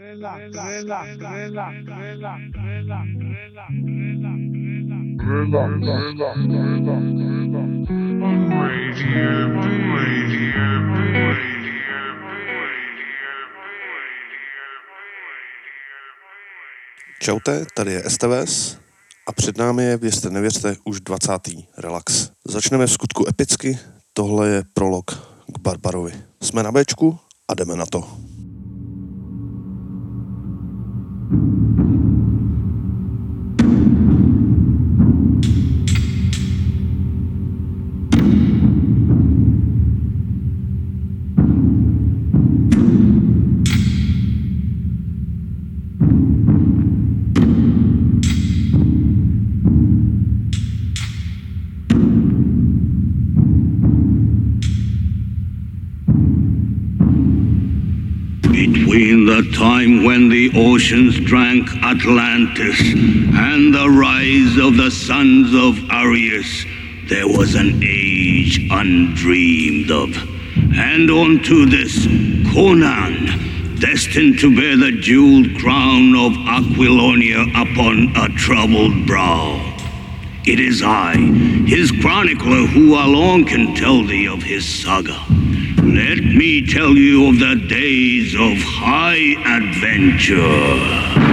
Čaute, tady je STVS a před námi je, věřte nevěřte, už 20. relax. Začneme v skutku epicky, tohle je prolog k Barbarovi. Jsme na Bčku a jdeme na to. Between the time when the oceans drank Atlantis and the rise of the sons of Arius, there was an age undreamed of. And unto this, Conan, destined to bear the jeweled crown of Aquilonia upon a troubled brow. It is I, his chronicler, who alone can tell thee of his saga. Let me tell you of the days of high adventure.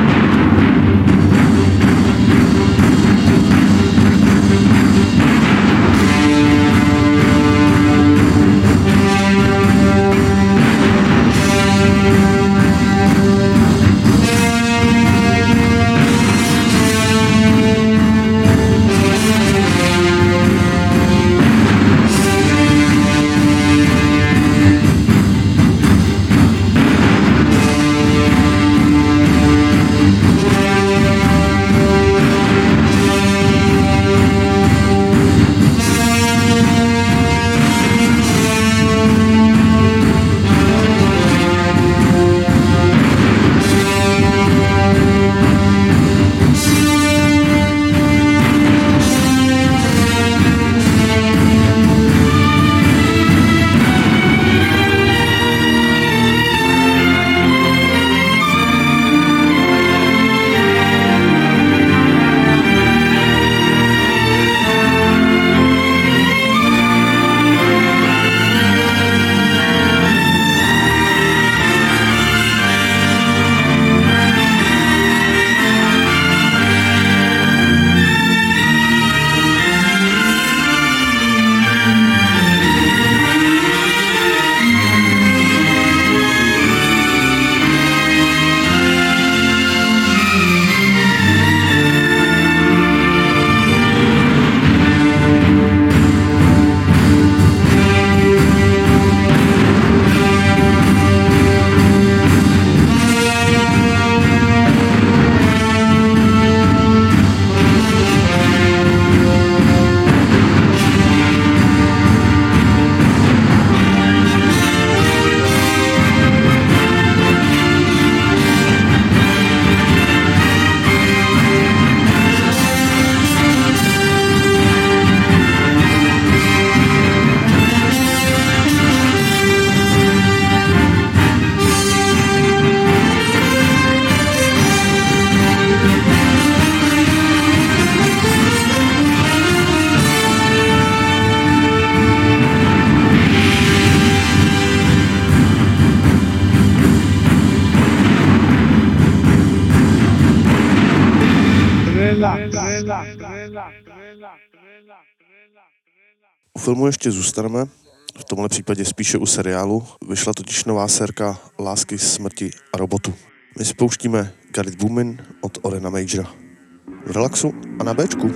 U filmu ještě zůstaneme, v tomhle případě spíše u seriálu. Vyšla totiž nová sérka Lásky, smrti a robotu. My si pouštíme Got It Boomin' od Orena Majora. V relaxu a na Bčku.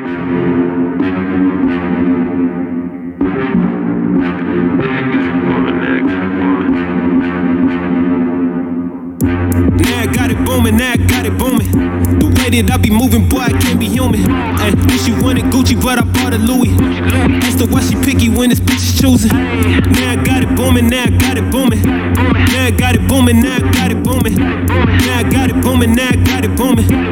Now I got it booming, now I got it booming. The way that I be moving, boy, I can't be human. Then she wanted Gucci, but I bought a Louis. Asked her why she picky when this bitch is choosing. Now I got it booming, now I got it booming. Now I got it booming, now I got it booming. Now I got it booming, now I got it booming. The way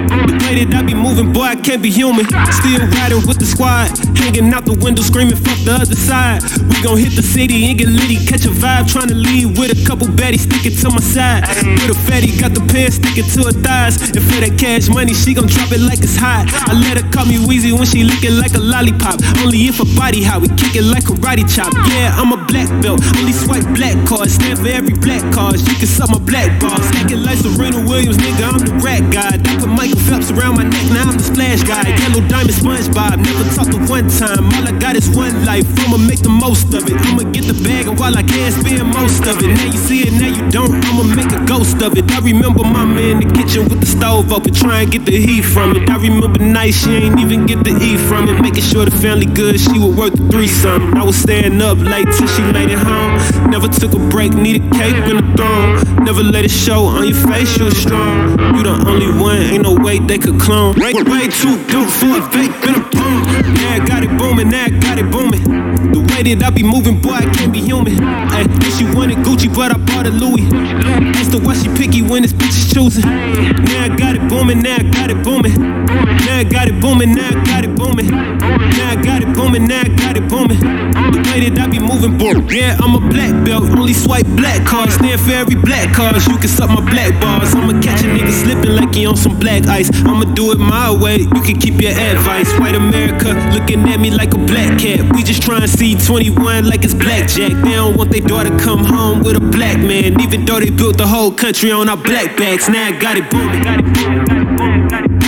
way that I be moving, boy, I can't be human. Still riding with the squad, hanging out the window, screaming fuck the other side. We gon' hit the city and get litty, catch a vibe, tryna leave with a couple baddies sticking to my side. With a fatty, got the pants sticking to her thighs. And for that cash money, she gon' drop it like it's hot. I let her call me Weezy when she lick it like a lollipop. Only if her body hot, we kick it like karate chop. Yeah, I'm a black belt, only swipe black cards. Stand for every black card, you can suck my black balls. Acting like Serena Williams, nigga, I'm the rat guy. I put Michael Phelps around my neck, now I'm the splash guy. Yellow diamond SpongeBob, never talked to one time. All I got is one life, I'ma make the most of it. I'ma get the bag and while I can spend most of it. Now you see it, now you don't, I'ma make a ghost of it. I remember mama in the kitchen with the stove open, try and get the heat from it. I remember nights she ain't even get to eat from it. Making sure the family good, she was worth the threesome. I was staying up late till she made it home. Never took a break, needed cake in the throne. Never let it show on your face, you was strong. You the only one, ain't no way they could clone. Way too dope for a fake, been a boom. Now I got it booming, now I got it booming. The way that I be moving, boy, I can't be human. Ay, she wanted Gucci, but I bought a Louis. Asked her why she picky when this bitch is choosing. Now I got it booming, now I got it booming. Now I got it booming, now I got it booming. Now I got it booming, now I got it booming. The way that I be moving, boy, yeah, I'm a black belt. Only swipe black cards, stand for every black card. You can suck my black bars. I'ma catch a nigga slipping like he on some black ice. I'ma do it my way, you can keep your advice. White America looking at me like a black cat. We just trying to see 21 like it's blackjack. They don't want their daughter come home with a black man, even though they built the whole country on our black backs. Now I got it booming, got it booming, got it booming, got it booming.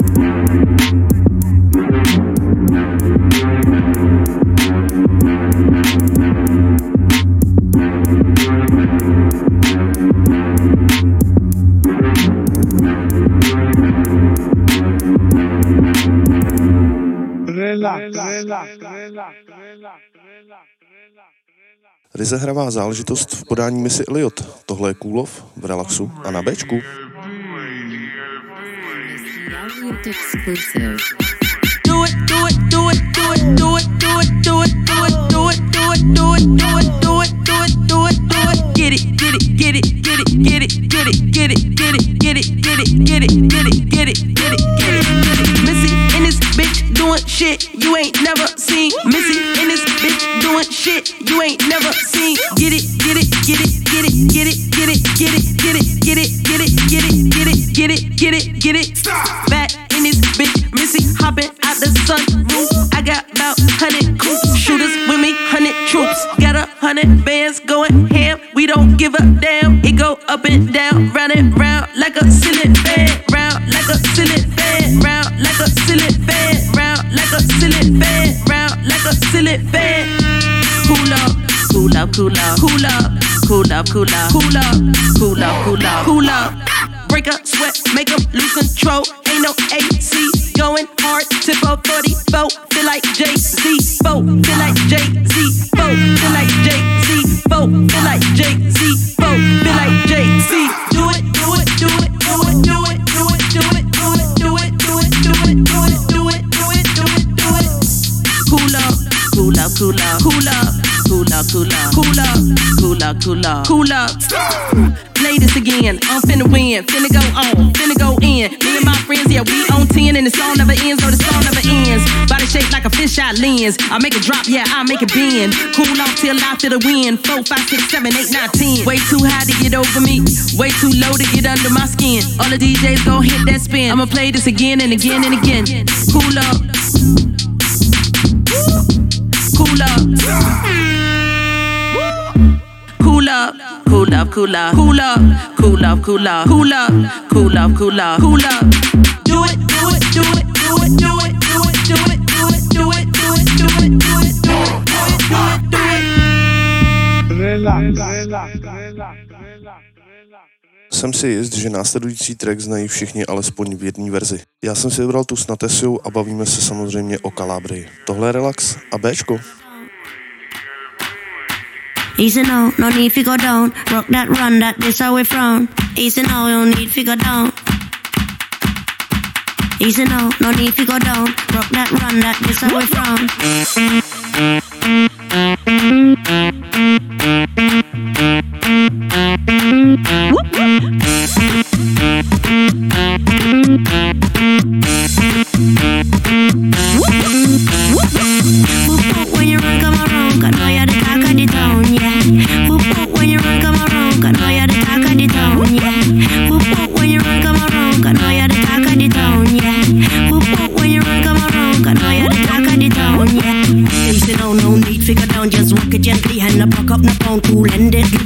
Ryzehravá záležitost v podání Missy Elliott. Tohle je Coolov v Relaxu a na Bčku. Do it, do it, do it, do it, do it, do it, do it, do it, do it, do it, do it, do it, do it, do it, do it, do it. Get it, get it, get it, get it, get it, get it, get it, get it, get it, get it, get it, get it, get it, get it, get it. Missy in this bitch doing shit you ain't never seen. Missy in this bitch doing shit you ain't never seen. Get it, get it, get it, get it, get it, get it, get it, get it, get it, get it, get it, get it, get it, get it, get it. Back in this bitch, Missy hopping out the sunroof. I got about 100 coops, shooters with me, 100 troops. Got 100 bands going ham. We don't give a damn. It go up and down, round and round like a ceiling fan, round like a ceiling fan, round like a ceiling fan, round like a ceiling fan, round like a ceiling fan. Cool up, cool up, cool up, cool up, cool up, cool up, cool up, cool up, cool up, cool up. Break up, sweat, make them lose control. Ain't no AC going hard. Tip up 44, feel like Jay-Z. Feel like Jay-Z. Feel like Jay-Z. Feel like Jay-Z. Feel like Jay-Z. Do it, do it, do it, do it, do it, do it, do it, do it, do it, do it, do it, do it, do it, do it, do it. Cool up, cool up, cool up, cool up, cool up, cool up, cool up, cool up, cool up, cool up. Play this again, I'm finna win, finna go on, finna go in. Me and my friends, yeah, we on 10 and the song never ends, or the song never ends. Body shaped like a fisheye lens, I make it drop, yeah, I make it bend. Cool off till I feel the wind, 4, 5, 6, 7, 8, 9, 10. Way too high to get over me, way too low to get under my skin. All the DJs gon' hit that spin, I'ma play this again and again and again. Cool up, cool up, cool up. Cool up, cool up, cool up, cool up, cool up, cool up, cool up, cool up, cool up. Do it, do it, do it, do it, do it, do it, do it, do it, do it, do it, do it, do it, do it, do it, do it. Relax. Jsem si jist, že následující track znají všichni alespoň v jedné verzi. Já jsem si vybral tu s Natesiou a bavíme se samozřejmě o Calabrii. Tohle je Relax a Bčko. Easy now, no need to go down. Rock that run, that this how we from. Easy now, no need to go down. Easy now, no need to go down. Rock that run, that this how we from.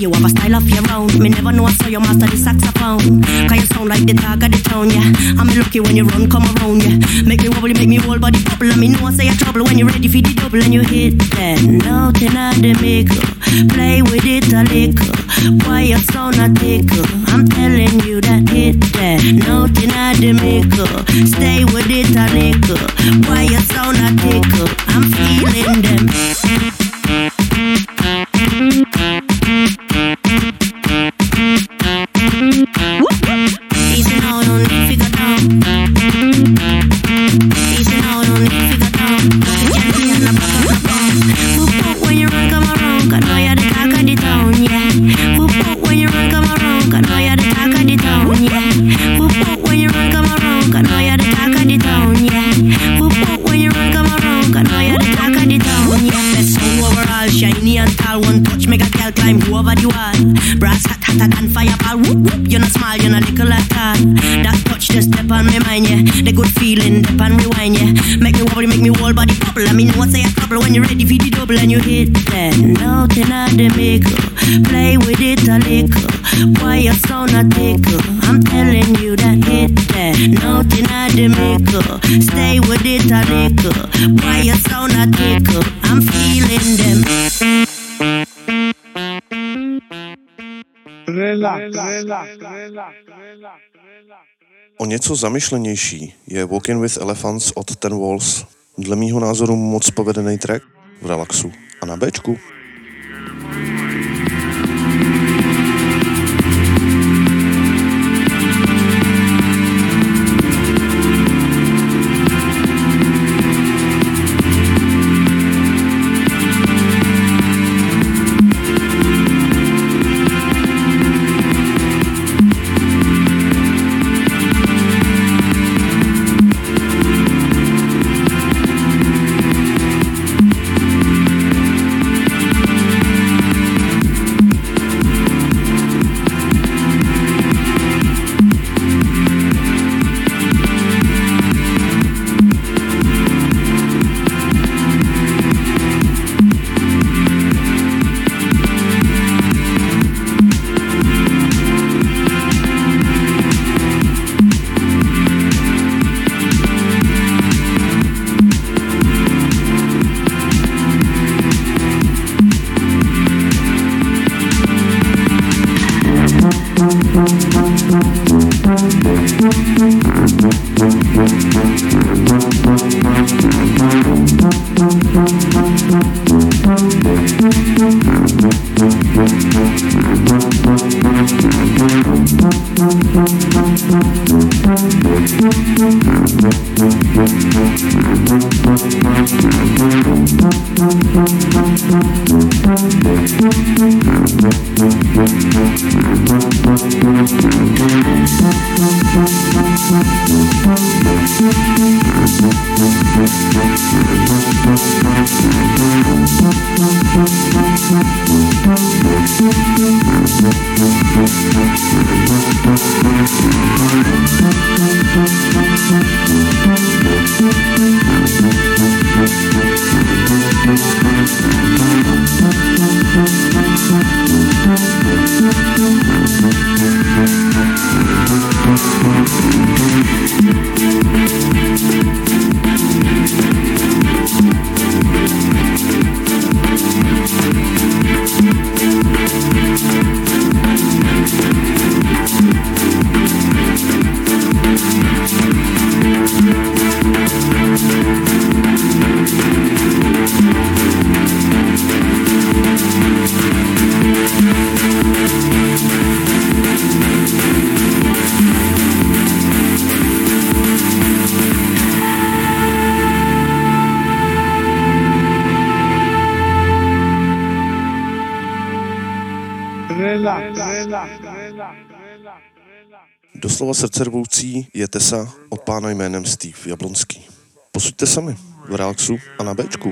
you have a style of your own. Me never know I saw you master the saxophone. Cause you sound like the talk of the town, yeah. I'm lucky when you run, come around, yeah. Make me wobble, make me whole body bubble. And me know I say you're trouble when you're ready for the double. And you hit that note in the middle. Play with it a little. Why you sound a tickle? I'm telling you that hit that note in the middle. Stay with it a little. Why you sound a tickle? I'm feeling them. Easy now, don't need figure down. Easy now, don't need figure down. Whoop when you run, come around. Cause now you're the talk of the town, yeah. Whoop when you run, come around. Cause now you're the talk of the town, yeah. Whoop when you run, come around. Cause now you're the talk of the town, yeah. Whoop when you run, come around. Cause now you're the talk of the town, yeah. Best sound overall, shiny and tall. One touch, make a girl climb over the wall. Brass hot, hotter than fireball. Whoop whoop, you're not small, you're not little at all. That touch just step on my mind, yeah. The good feeling, step and rewind, yeah. Make me wobble, make me whole body bubble. I mean, what's a trouble when you're ready for the double and you hit that note in the middle. Play with it a little. Why you sound a tickle? I'm telling you that hit that note in the middle. Stay with it a little. Why you sound a tickle? I'm feeling them. O něco zamyšlenější je Walking with Elephants od Ten Walls. Dle mýho názoru moc povedený track v relaxu a na Bčku. Doslova srdcervoucí je Tesa od pána jménem Steve Jablonský. Posuďte sami v relaxu a na Bčku.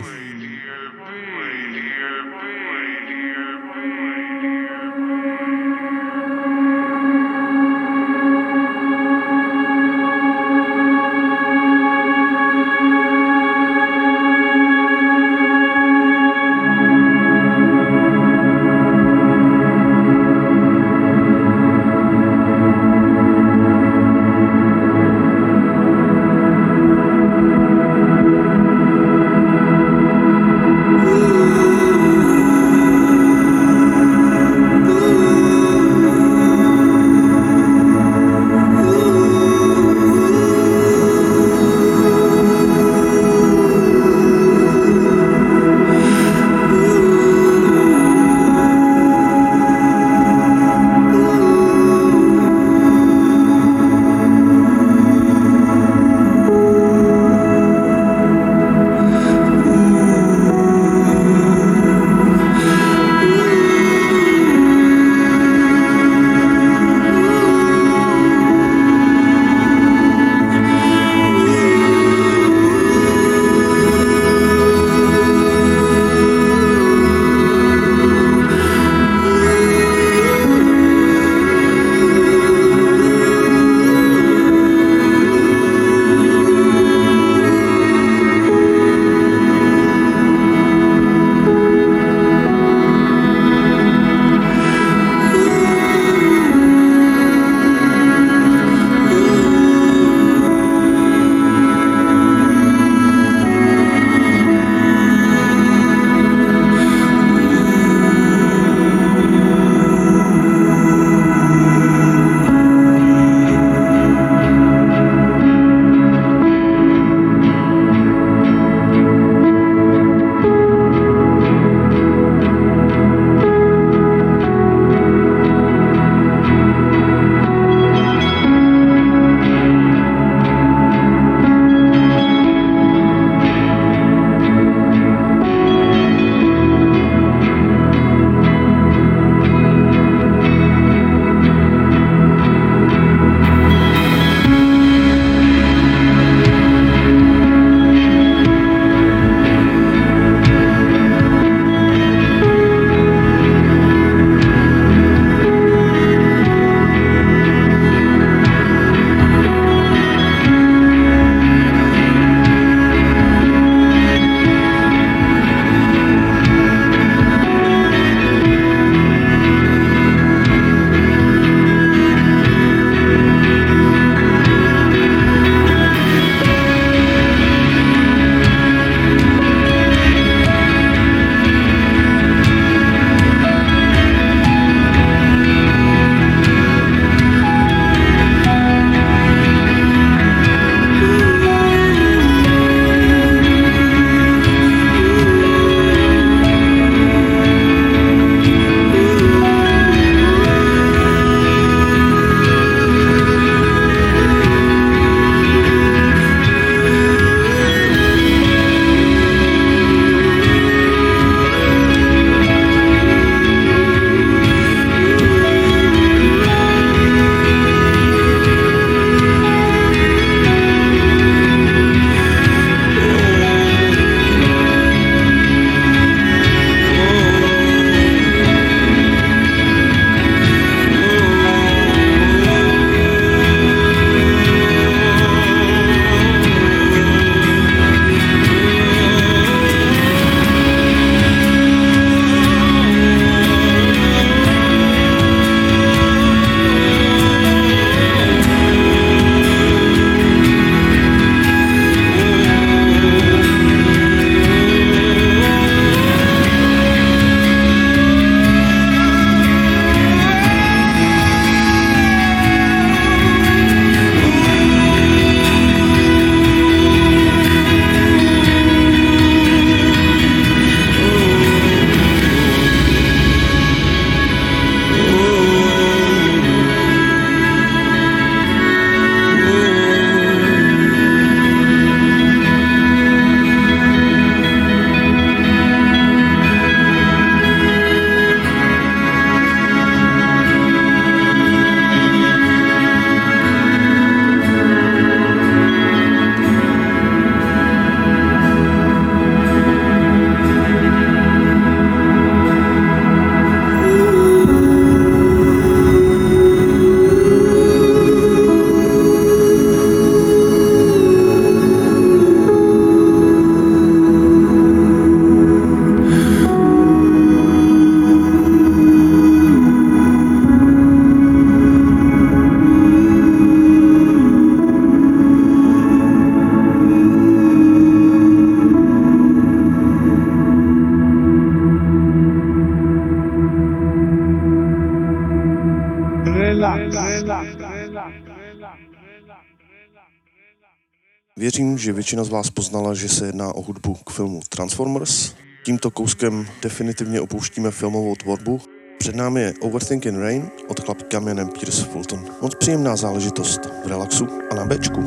Věřím, že většina z vás poznala, že se jedná o hudbu k filmu Transformers. Tímto kouskem definitivně opouštíme filmovou tvorbu. Před námi je Overthinking Rain od chlapíka jménem Pierce Fulton. Moc příjemná záležitost v relaxu a na Bčku.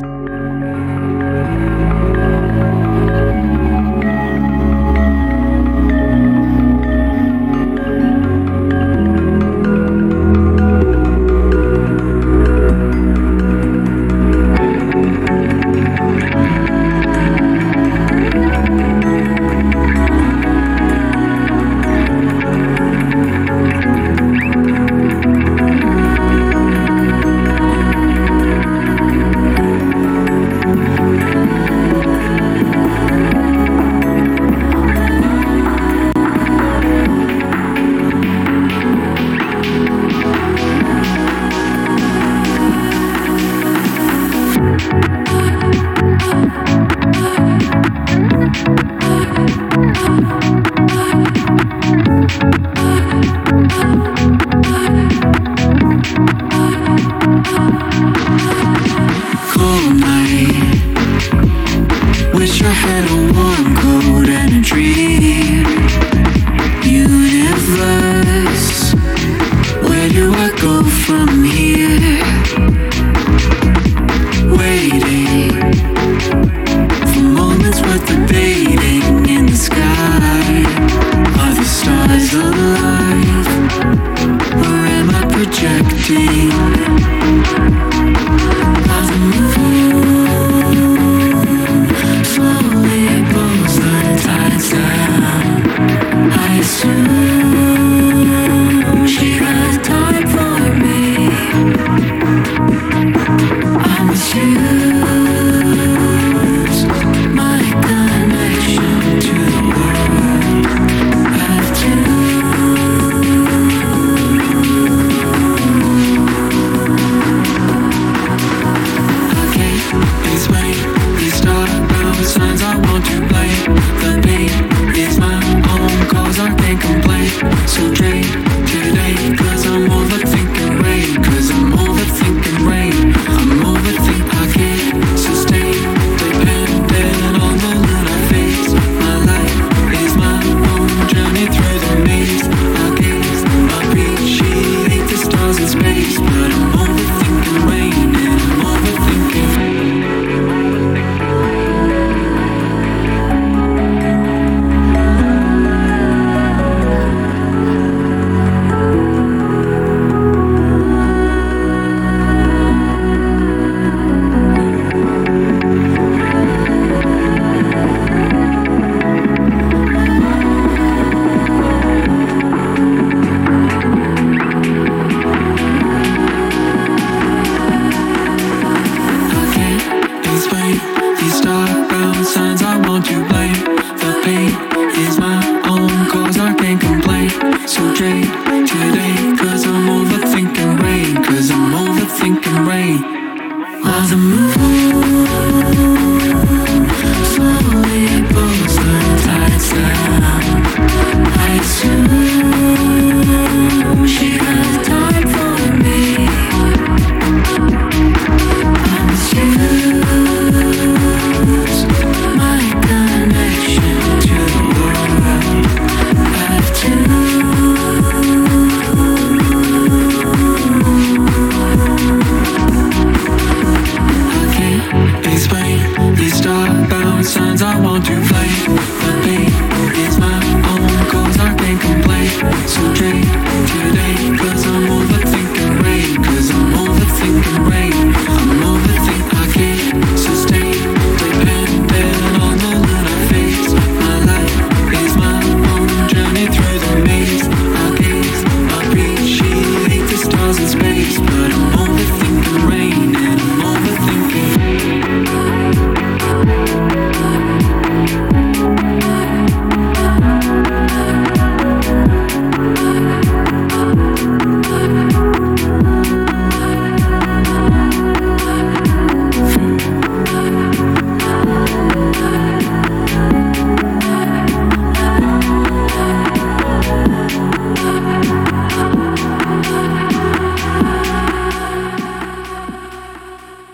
Okay.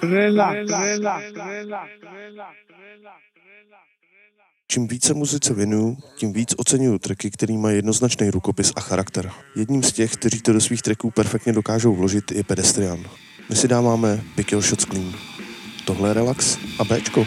Čím více muzice věnuju, tím víc oceňuju tracky, který mají jednoznačný rukopis a charakter. Jedním z těch, kteří to do svých tracků perfektně dokážou vložit, je Pedestrian. My si dáváme Pick Your Shots Clean. Tohle je Relax a Bčko.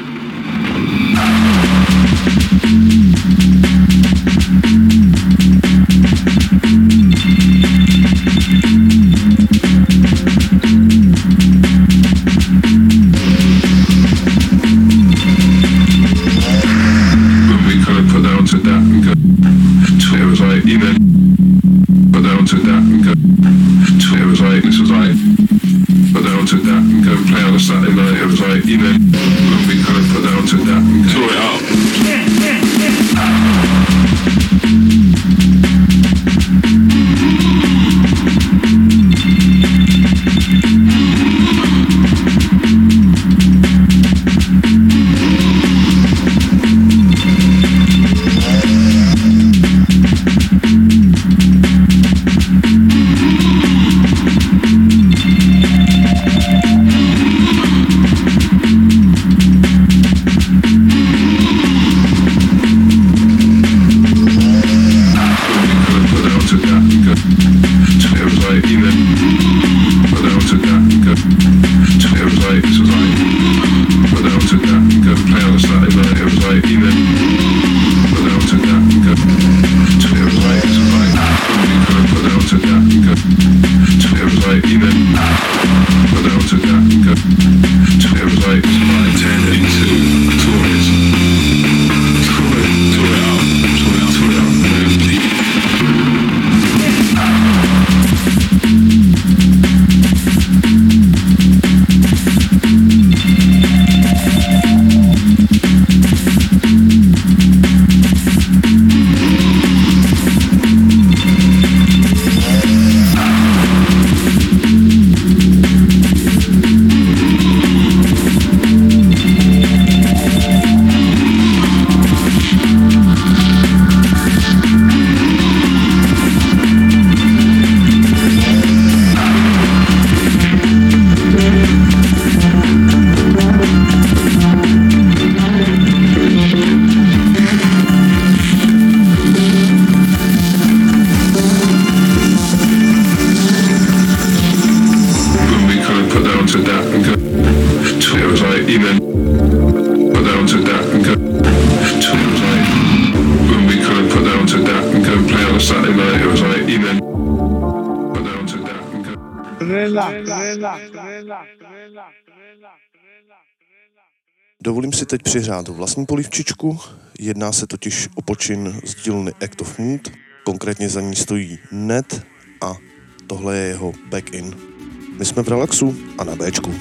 Dovolím si teď přihrát vlastní polivčičku, jedná se totiž o počin z dílny Act of Mood, konkrétně za ní stojí Ned a tohle je jeho Back In. My jsme v Relaxu a na Bčku.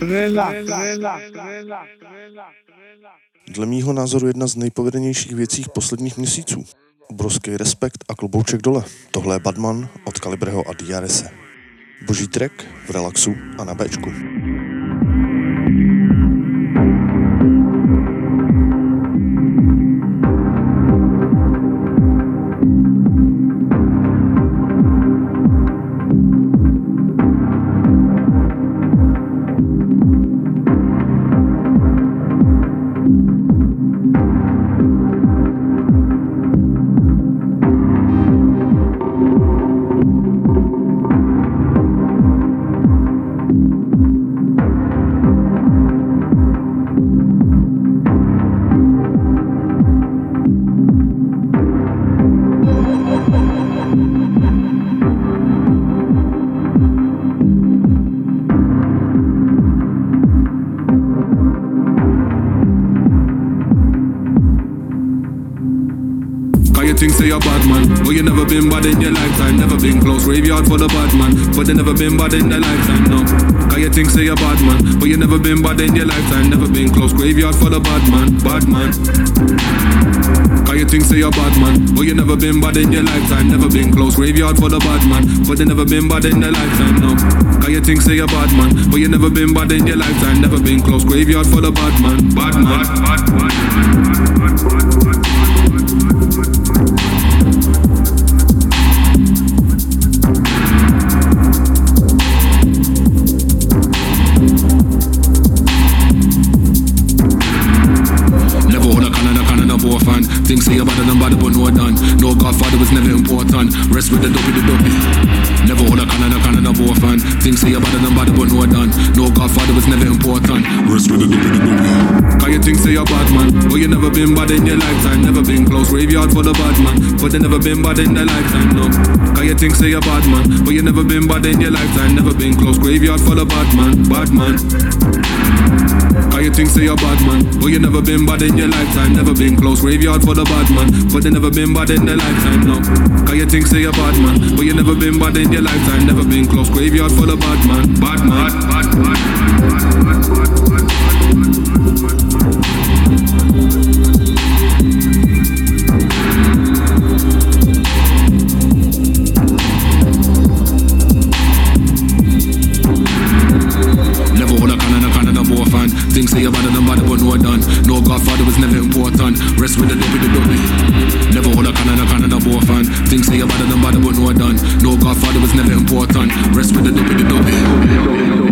Dle mýho názoru jedna z nejpovedenějších věcí posledních měsíců. Obrovský respekt a klobouček dole. Tohle je Badman od Kalibreho a DRS. Boží track v relaxu a na Bčku. Think say you're bad man, but you never been bad in your lifetime. Never been close, graveyard for the bad man, but they never been bad in their lifetime, no. Can you think say you're bad man, but you never been bad in your lifetime. Never been close, graveyard for the bad man, bad man. Can you think say you're bad man, but you never been bad in your lifetime. Never been close, graveyard for the bad man, but they never been bad in their lifetime, no. Can you think say you're bad man, but you never been bad in your lifetime. Never been close, graveyard for the bad man, bad man. Think say you're better than bad, but no done. No Godfather was never important. Rest with the dopey. Never hold a cannon of war fan. Think say you're better than bad, but no done. No Godfather was never important. Rest with the dopey. Can you think say you're bad man, but you never been bad in your lifetime. Never been close, graveyard for the bad man, but they never been bad in their lifetime, no. Can you think say you're bad man, but you never been bad in your lifetime. Never been close, graveyard for the bad man, bad man. Can you think say you're bad man, but you never been bad in your lifetime. Never been close, graveyard for the bad man, but they never been bad in their lifetime, no. Can you think say you're bad man, but you never been bad in your lifetime. Never been close, graveyard for the bad man, bad man, bad man. Think say you're better than bad, but no done. No Godfather was never important. Rest with the dopey. Never hold a cannon of war fan. Think say you're better than bad, but no done. No Godfather was never important. Rest with the dopey.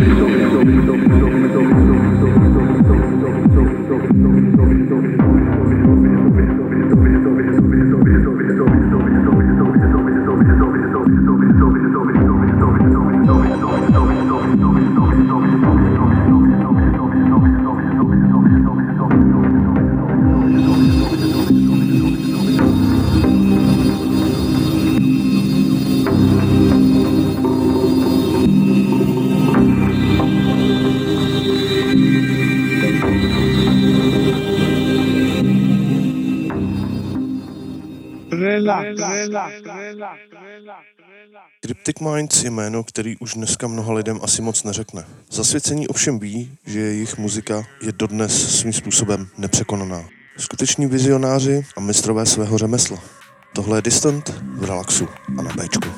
Cryptic Minds je jméno, který už dneska mnoha lidem asi moc neřekne. Zasvěcení ovšem ví, že jejich muzika je dodnes svým způsobem nepřekonaná. Skuteční vizionáři a mistrové svého řemesla. Tohle je Distant v relaxu a na Bčku.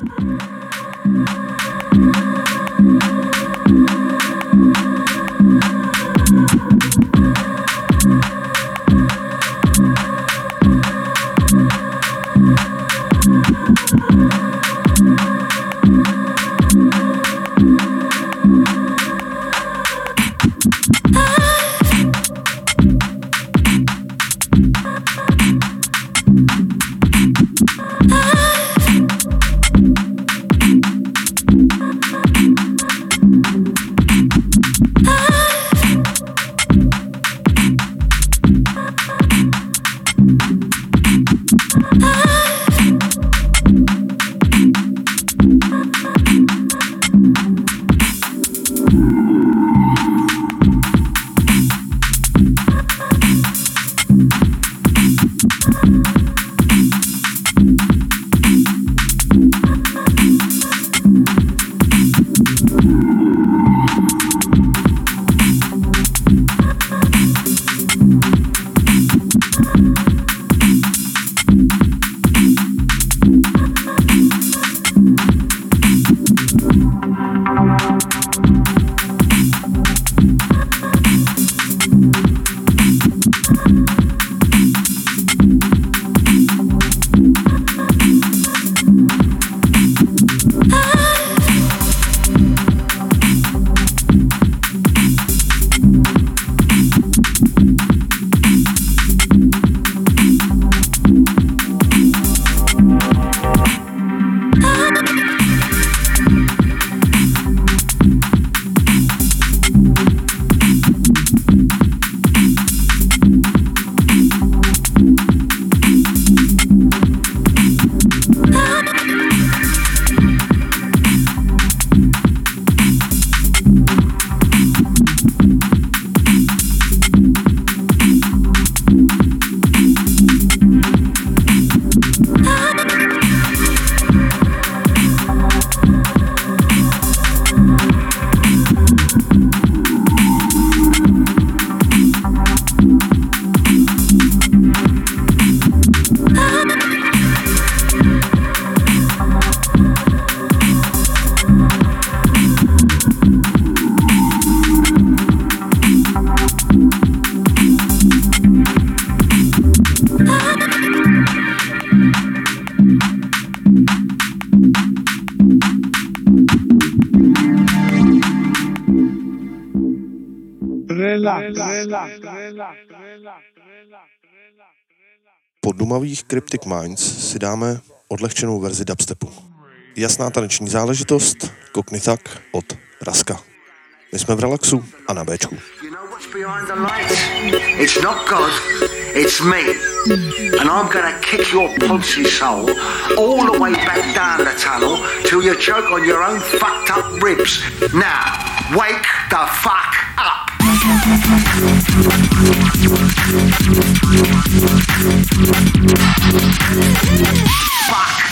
Po dumavých Cryptic Minds si dáme odlehčenou verzi dubstepu. Jasná taneční záležitost, Cockney Thug od Raska. My jsme v Relaxu a na Bčku. Behind the lights. It's not God, it's me. And I'm gonna kick your pussy soul all the way back down the tunnel till you choke on your own fucked up ribs. Now, wake the fuck up. Fuck.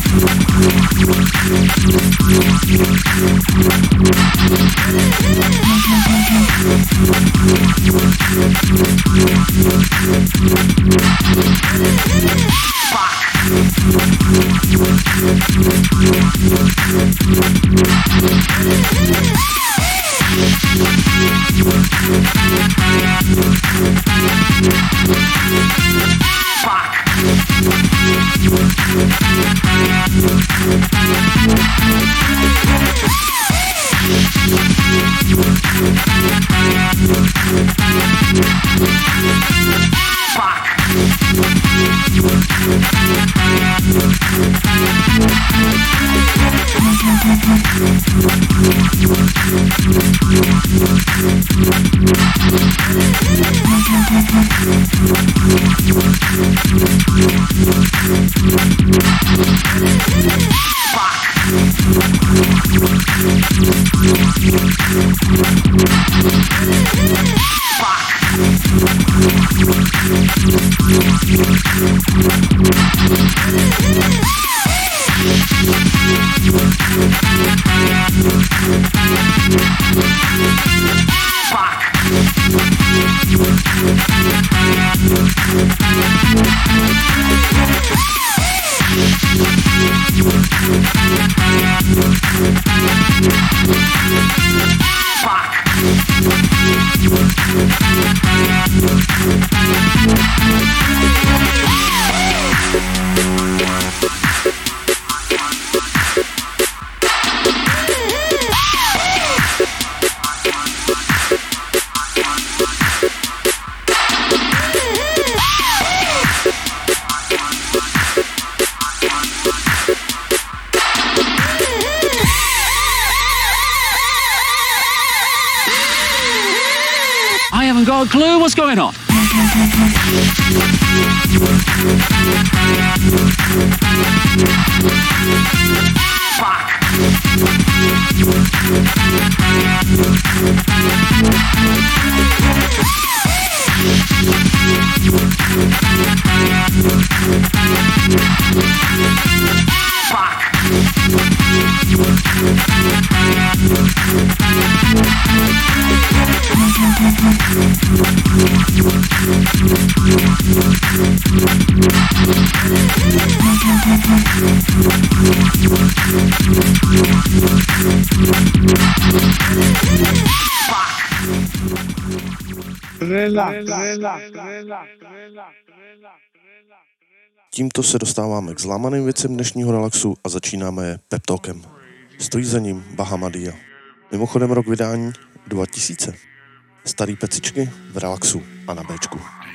I haven't got a clue what's going on. Tímto se dostáváme k zlámaným věcem dnešního Relaxu a začínáme je Pep Talkem. Stojí za ním Bahamadia. Mimochodem rok vydání 2000. Starý pecičky v Relaxu a na Bčku.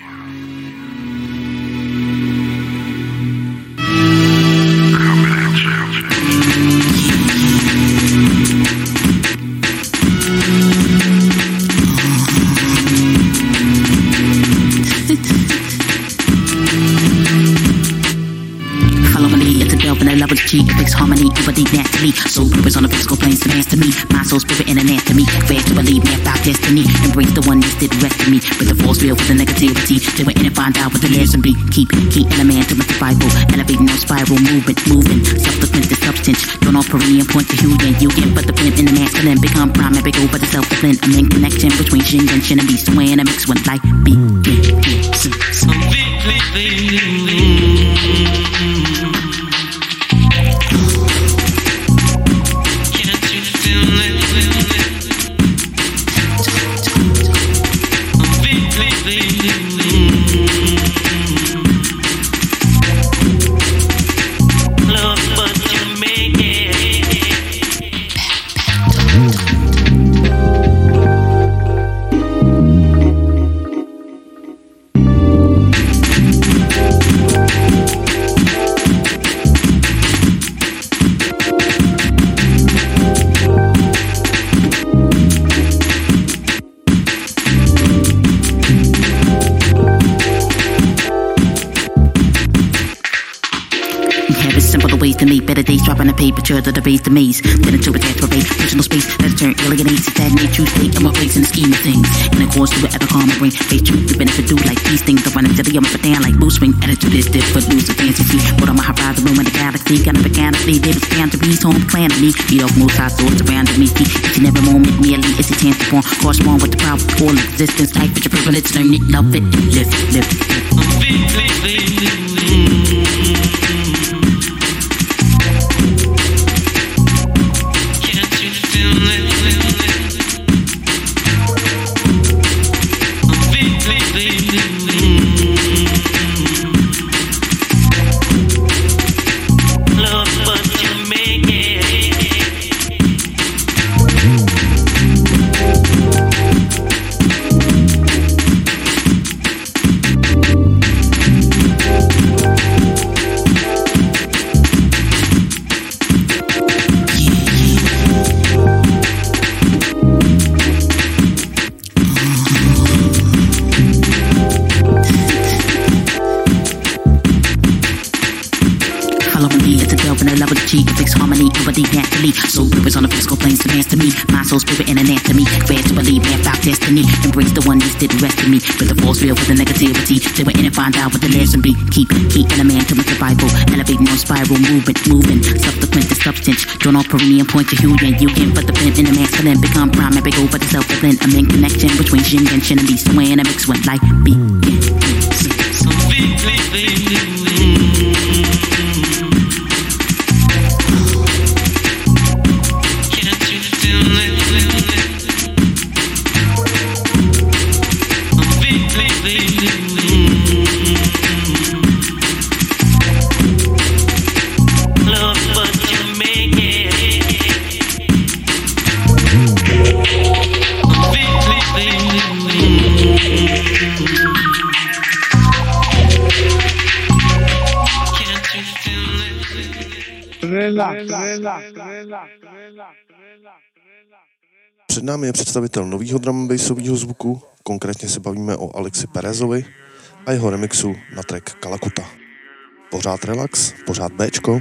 Levels G, fix harmony, over deep naturally. Soul purpose on the physical planes to master me. My soul, spirit, and anatomy. Fast to believe me about destiny. Embrace the one that did the rest of me. With the force field with the negativity. Till we're in and find out what the lesson be. Keep elemental with the Bible. Elevating no spiral movement. Self-defense the substance. Don't all perineum point to Huyen. You get but the flint in the masculine. Become prime epic over the self-defense. I'm in connection between Shin and Shin and Beast. When I mix when life begins. dropping the paper, trail to the base, the maze. Then into a death parade, personal space, let it turn alienates, stagnate, true state of my place in the scheme of things. In a course to whatever calm my brain, face truth, the benefit do like these things. I run into the up and down like boost swing, attitude is different, lose the fancy feet. But on my horizon, room in the galaxy, got a mechanically, there was boundaries, home planet me. Eat off most high thoughts around me. Each and every moment, merely is a chance to form, correspond with the power of all existence. Type with your privilege, learn it, love it, live it, live it. Soul purpose on the physical planes to master me. My soul, spirit, and anatomy. Fast to believe, map out destiny. Embrace the one that didn't rest in me. But the false real for the negativity. They were in and find out what the lesson be. Keep in a man to my survival. Elevating on spiral, moving. Subsequent to substance. Drawn on perennial point to Huyen. You can put the pen in the masculine. Become prime, epic over the self-evident. I'm in connection between Shin and Shin and Beast. When I mix when life begins. Před námi je představitel nového drum and bassového zvuku, konkrétně se bavíme o Alexi Perezovi a jeho remixu na track Kalakuta. Pořád relax, pořád Bčko.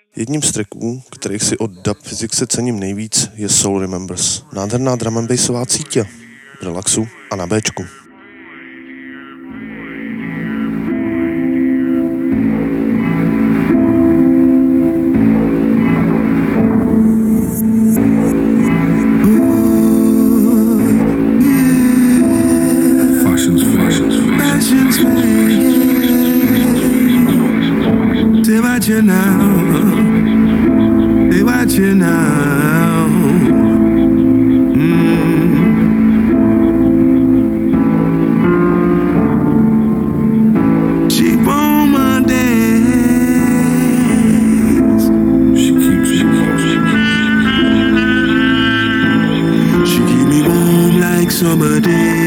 Jedním z tracků, kterých si od Dub Physics cením nejvíc, je Soul Remembers. Nádherná drum and bassová cítě v relaxu a na Bčku. You now, they watch you now. She won't my days. She keep me warm like summer days.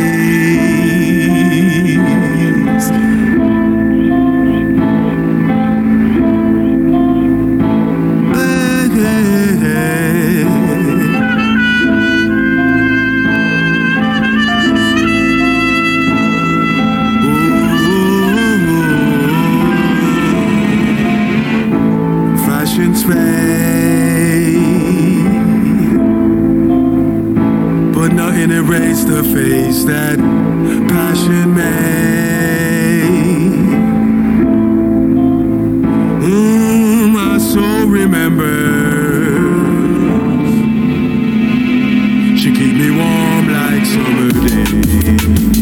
But nothing erased the face that passion made. My soul remembers. She keep me warm like summer days.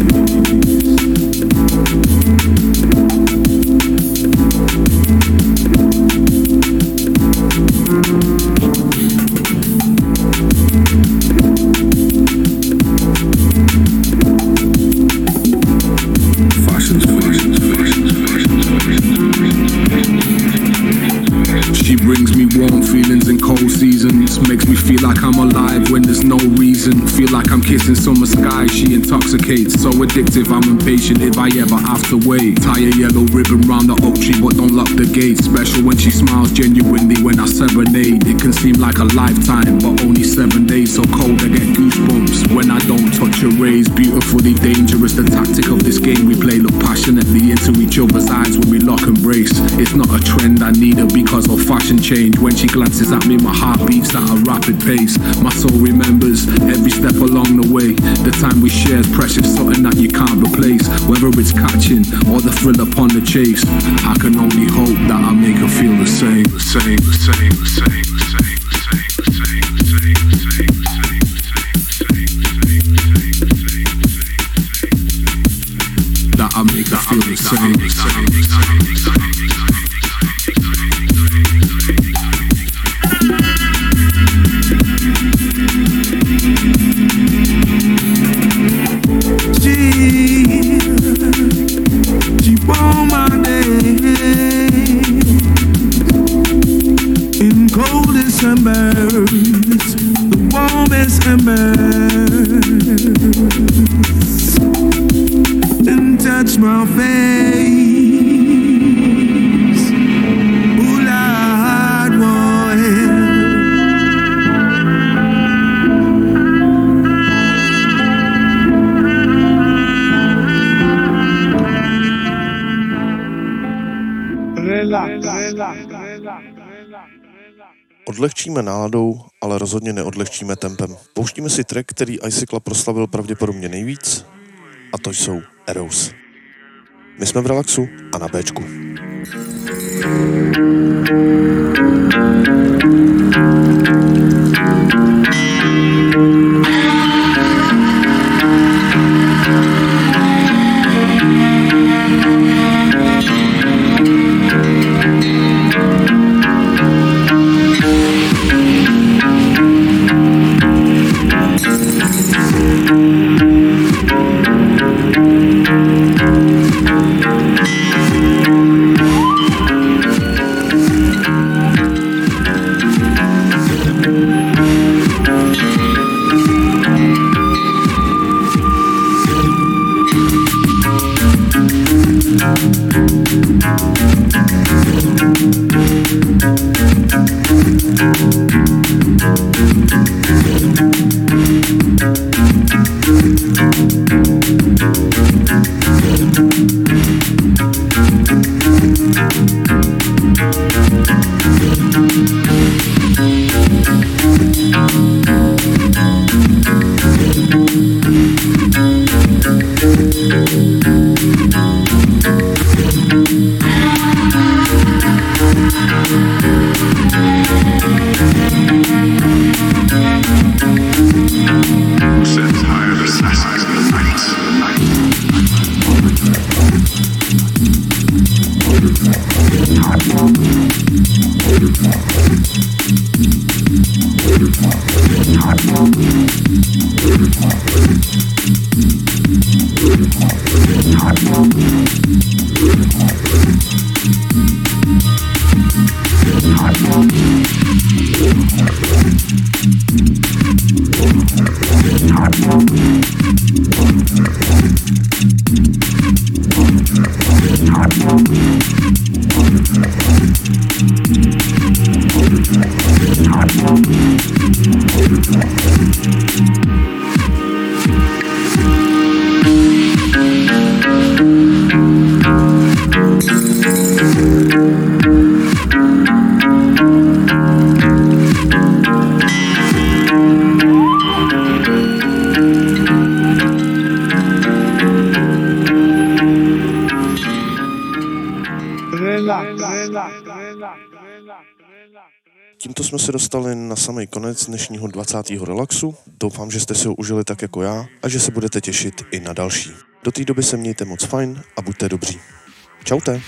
Makes me feel like I'm alive when there's no reason. Feel like I'm kissing summer sky. She intoxicates, so addictive I'm impatient if I ever have to wait. Tie a yellow ribbon round the oak tree but don't lock the gate. Special when she smiles genuinely when I serenade. It can seem like a lifetime but only 7 days. So cold I get goosebumps when I don't touch her rays. Beautifully dangerous, the tactic of this game we play. Look passionately into each other's eyes when we lock and brace. It's not a trend, I need her because of fashion change. When she glances at me my heart beats at a rapid pace. My soul remembers every step along the way. The time we shared, precious, something that you can't replace. Whether it's catching or the thrill upon the chase, I can only hope that I make her feel the same. The same, the same, the same, the same, the same, the same, the same, the same, the same, that I make her feel the same. She won't my days in coldest embers, the warmest embers, and touch my face. Ooh, Lord, boy. Odlehčíme náladou, ale rozhodně neodlehčíme tempem. Pouštíme si track, který Icicla proslavil pravděpodobně nejvíc, a to jsou Arrows. My jsme v relaxu a na Bčku. Tímto jsme se dostali na samý konec dnešního 20. relaxu. Doufám, že jste si ho užili tak jako já a že se budete těšit i na další. Do té doby se mějte moc fajn a buďte dobří. Čaute.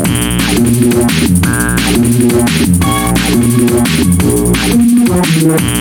Yeah.